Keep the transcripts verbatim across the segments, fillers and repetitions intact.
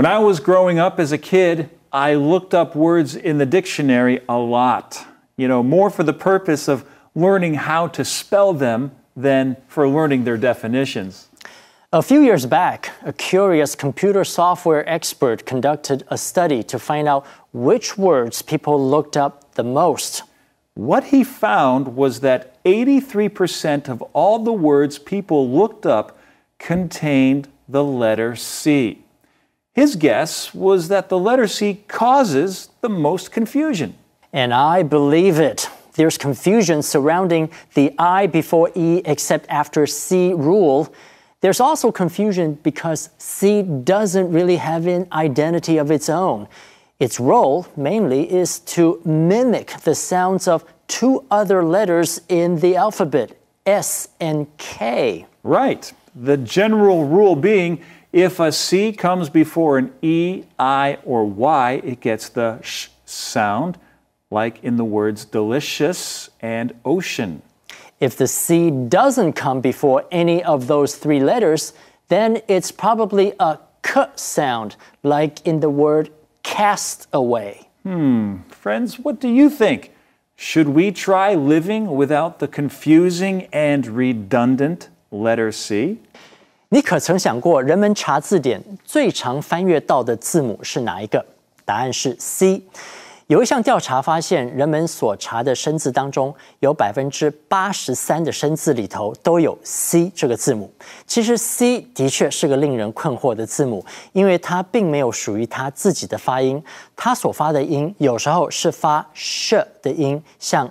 When I was growing up as a kid, I looked up words in the dictionary a lot, you know, more for the purpose of learning how to spell them than for learning their definitions. A few years back, a curious computer software expert conducted a study to find out which words people looked up the most. What he found was that eighty-three percent of all the words people looked up contained the letter C. His guess was that the letter C causes the most confusion. And I believe it. There's confusion surrounding the I before E except after C rule. There's also confusion because C doesn't really have an identity of its own. Its role, mainly, is to mimic the sounds of two other letters in the alphabet, S and K. Right. The general rule being, if a C comes before an E, I, or Y, it gets the sh sound, like in the words delicious and ocean. If the C doesn't come before any of those three letters, then it's probably a K sound, like in the word cast away. Hmm, friends, what do you think? Should we try living without the confusing and redundant letter C? 你可曾想过，人们查字典最常翻阅到的字母是哪一个？答案是 C。有一项调查发现，人们所查的生字当中，有百分之八十三的生字里头都有 C 这个字母。其实 C 的确是个令人困惑的字母，因为它并没有属于它自己的发音，它所发的音有时候是发 sh 的音，像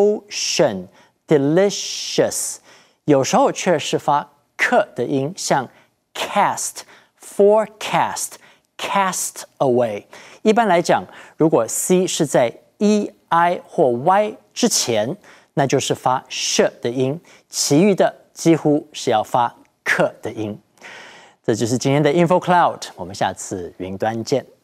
ocean、delicious， 有时候却是发 k 的音，像 cast、forecast、cast away。一般来讲，如果 C 是在 E、I 或 Y 之前，那就是发 sh 的音，其余的几乎是要发 k 的音。这就是今天的 InfoCloud，我们下次云端见。